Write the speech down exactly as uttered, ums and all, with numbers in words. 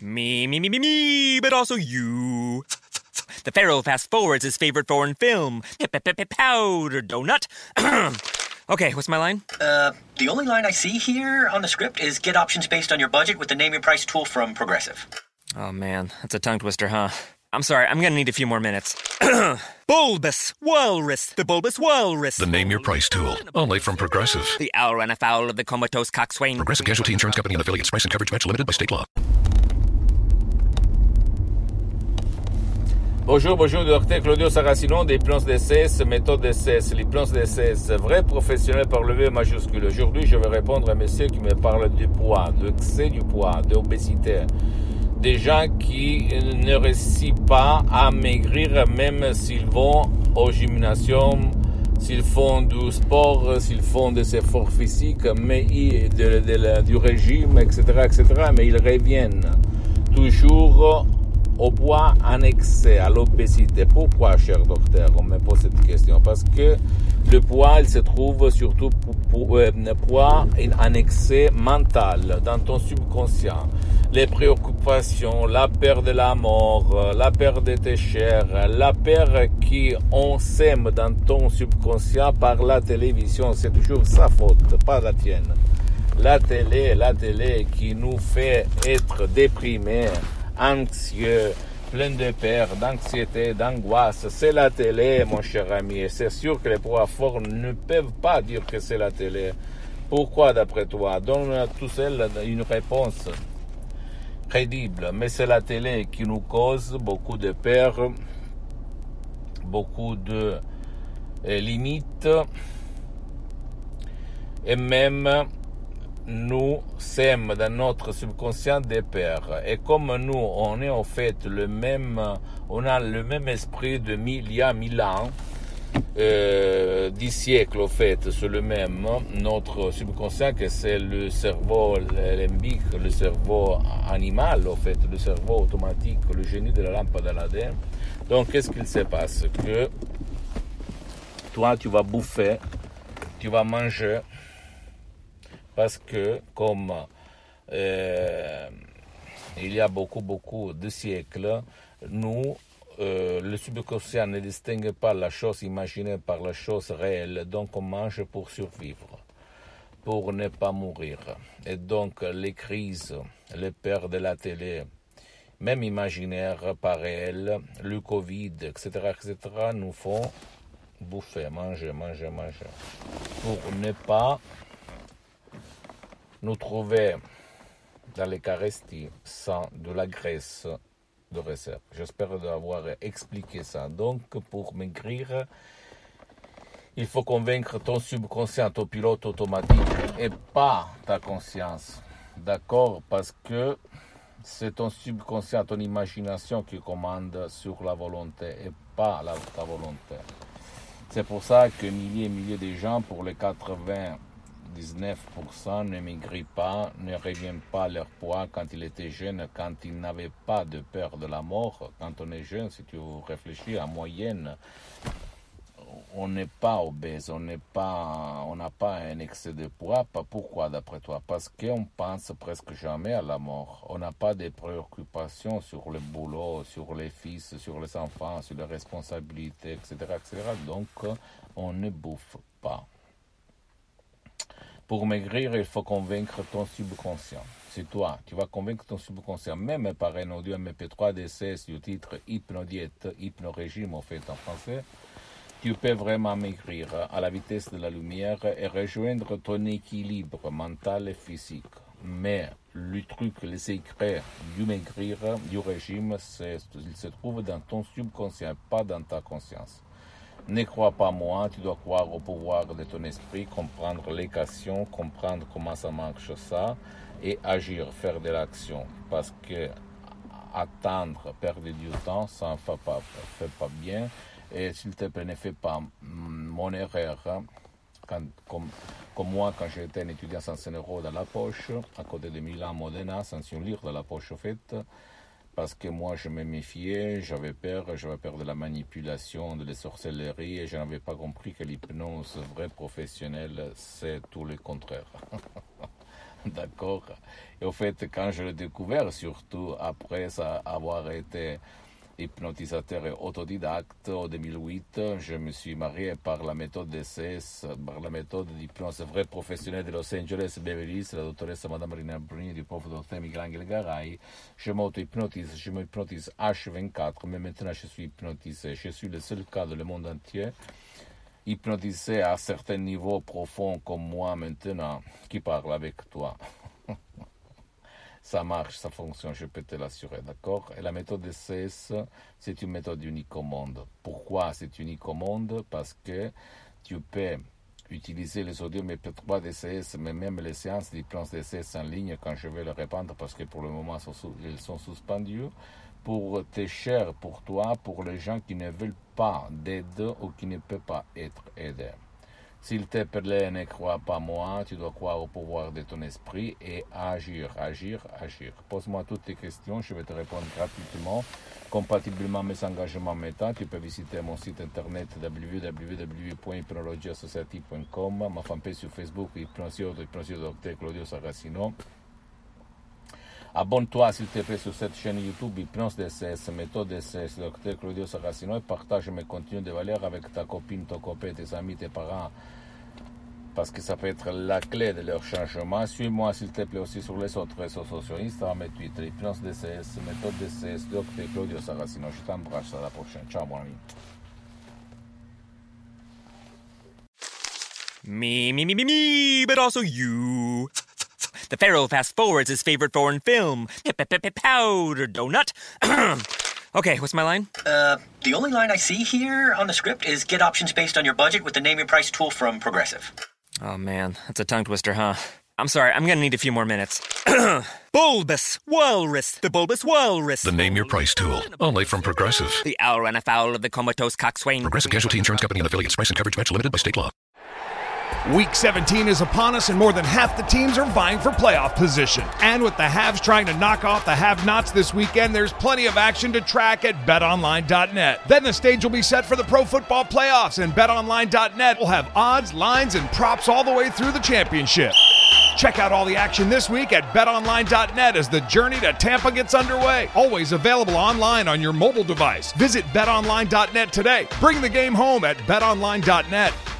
Me, me, me, me, me, but also you. The Pharaoh fast forwards his favorite foreign film, Powder Donut. Okay, what's my line? Uh, the only line I see here on the script is get options based on your budget with the Name Your Price tool from Progressive. Oh man, that's a tongue twister, huh? I'm sorry, I'm gonna need a few more minutes. Bulbous Walrus, the Bulbous Walrus. The Name Your Price tool, only from Progressive. The owl ran afoul of the comatose coxswain. Progressive Casualty Insurance Company and affiliates. Price and coverage match limited by state law. Bonjour, bonjour, docteur Claudio Saracino des plans D C S, méthode D C S, les plans D C S, vrai professionnel par le V majuscule. Aujourd'hui, je vais répondre à monsieur qui me parle du poids, de excès du poids, d'obésité. Des gens qui ne réussissent pas à maigrir même s'ils vont au gymnasium, s'ils font du sport, s'ils font des efforts physiques, mais de, de, de, du régime, et cetera, et cetera, mais ils reviennent toujours au poids en excès, à l'obésité. Pourquoi, cher docteur, on me pose cette question? Parce que le poids, il se trouve surtout pour, pour euh, poids en excès mental, dans ton subconscient. Les préoccupations, la peur de la mort, la peur de tes chers, la peur qu'on sème dans ton subconscient par la télévision, c'est toujours sa faute, pas la tienne. La télé, la télé qui nous fait être déprimés, anxieux, plein de peur, d'anxiété, d'angoisse. C'est la télé, mon cher ami. Et c'est sûr que les poids forts ne peuvent pas dire que c'est la télé. Pourquoi, d'après toi? Donne à tout seul une réponse crédible. Mais c'est la télé qui nous cause beaucoup de peur, beaucoup de eh, limites, et même nous sème dans notre subconscient des peurs. Et comme nous, on est en fait le même, on a le même esprit de mille, il y a mille ans, euh, dix siècles au fait, c'est le même, notre subconscient que c'est le cerveau limbique, le cerveau animal au fait, le cerveau automatique, le génie de la lampe d'Aladin. Donc qu'est-ce qu'il se passe? Que toi tu vas bouffer, tu vas manger, parce que, comme euh, il y a beaucoup, beaucoup de siècles, nous, euh, le subconscient ne distingue pas la chose imaginée par la chose réelle, donc on mange pour survivre, pour ne pas mourir. Et donc, les crises, les peurs de la télé, même imaginaires, pas réels, le Covid, et cetera, et cetera, nous font bouffer, manger, manger, manger, pour ne pas nous trouver dans l'Eucharistie sans de la graisse de réserve. J'espère avoir expliqué ça. Donc, pour maigrir, il faut convaincre ton subconscient, ton pilote automatique, et pas ta conscience. D'accord? Parce que c'est ton subconscient, ton imagination qui commande sur la volonté, et pas la, ta volonté. C'est pour ça que milliers et milliers de gens, pour les quatre-vingt-dix-neuf pour cent ne maigrissent pas, ne reviennent pas à leur poids quand ils étaient jeunes, quand ils n'avaient pas de peur de la mort. Quand on est jeune, si tu réfléchis en moyenne, on n'est pas obèse, on n'est pas, on n'a pas un excès de poids. Pourquoi d'après toi? Parce qu'on pense presque jamais à la mort. On n'a pas de préoccupations sur le boulot, sur les fils, sur les enfants, sur les responsabilités, et cetera, et cetera. Donc, on ne bouffe pas. Pour maigrir, il faut convaincre ton subconscient. C'est toi, tu vas convaincre ton subconscient, même par un audio M P trois D C S du titre Hypnodiète, Hypnorégime en fait en français. Tu peux vraiment maigrir à la vitesse de la lumière et rejoindre ton équilibre mental et physique. Mais le truc, le secret du maigrir, du régime, c'est, il se trouve dans ton subconscient, pas dans ta conscience. Ne crois pas moi, tu dois croire au pouvoir de ton esprit, comprendre l'équation, comprendre comment ça marche ça, et agir, faire de l'action. Parce que attendre, perdre du temps, ça ne fait pas, fait pas bien. Et s'il te plaît, ne fais pas mon erreur, hein, quand, comme, comme moi, quand j'étais un étudiant sans un euro dans la poche, à côté de Milan, Modena, sans un lire dans la poche, au fait, parce que moi, je me méfiais, j'avais peur, j'avais peur de la manipulation, de la sorcellerie, et je n'avais pas compris que l'hypnose vraie professionnelle, c'est tout le contraire. D'accord. Et au fait, quand je l'ai découvert, surtout après ça, avoir été hypnotisateur et autodidacte, en deux mille huit, je me suis marié par la méthode D C S, par la méthode d'hypnose vraie professionnelle de Los Angeles, Beverly Hills, la doctoresse Madame Marina Bruni, du prof docteur Michelangelo Garay. Je m'auto-hypnotise, je m'hypnotise H vingt-quatre, mais maintenant je suis hypnotisé. Je suis le seul cas dans le monde entier hypnotisé à certains niveaux profonds comme moi maintenant, qui parle avec toi. Ça marche, ça fonctionne, je peux te l'assurer, d'accord? Et la méthode D C S, c'est une méthode unique au monde. Pourquoi c'est unique au monde? Parce que tu peux utiliser les audios M P trois D C S, mais même les séances d'hypnose D C S en ligne, quand je vais le répandre, parce que pour le moment, elles sont suspendues, pour tes chers, pour toi, pour les gens qui ne veulent pas d'aide ou qui ne peuvent pas être aidés. S'il te plaît, ne crois pas moi, tu dois croire au pouvoir de ton esprit et agir, agir, agir. Pose-moi toutes tes questions, je vais te répondre gratuitement, compatiblement à mes engagements méta. Tu peux visiter mon site internet w w w point hypnologia society point com, ma fanpage sur Facebook, Hypnosiodo, Hypnosiodo Docteur Claudio Saracino. Abonne-toi s'il te plaît sur cette chaîne YouTube Hypnose D C S, méthode D C S, Docteur Claudio Saracino, et partage mes contenus de valeur avec ta copine, ton copain, tes amis, tes parents, parce que ça peut être la clé de leur changement. Suis-moi s'il te plaît aussi sur les autres réseaux sociaux, Instagram et Twitter, Hypnose D C S, méthode D C S, Docteur Claudio Saracino. Je t'embrasse, à la prochaine. Ciao mon ami. Me, me, me, me, me, but also you. The Pharaoh fast forwards his favorite foreign film, Powder Donut. Okay, what's my line? Uh, the only line I see here on the script is get options based on your budget with the Name Your Price tool from Progressive. Oh man, that's a tongue twister, huh? I'm sorry, I'm gonna need a few more minutes. Bulbous Walrus, the Bulbous Walrus. The Name Your Price tool, only from Progressive. The owl ran afoul of the comatose coxswain. Progressive Casualty Insurance Company and affiliates. Price and coverage match limited by state law. Week seventeen is upon us, and more than half the teams are vying for playoff position. And with the haves trying to knock off the have-nots this weekend, there's plenty of action to track at bet online dot net. Then the stage will be set for the Pro Football Playoffs, and bet online dot net will have odds, lines, and props all the way through the championship. Check out all the action this week at bet online dot net as the journey to Tampa gets underway. Always available online on your mobile device. Visit bet online dot net today. Bring the game home at bet online dot net.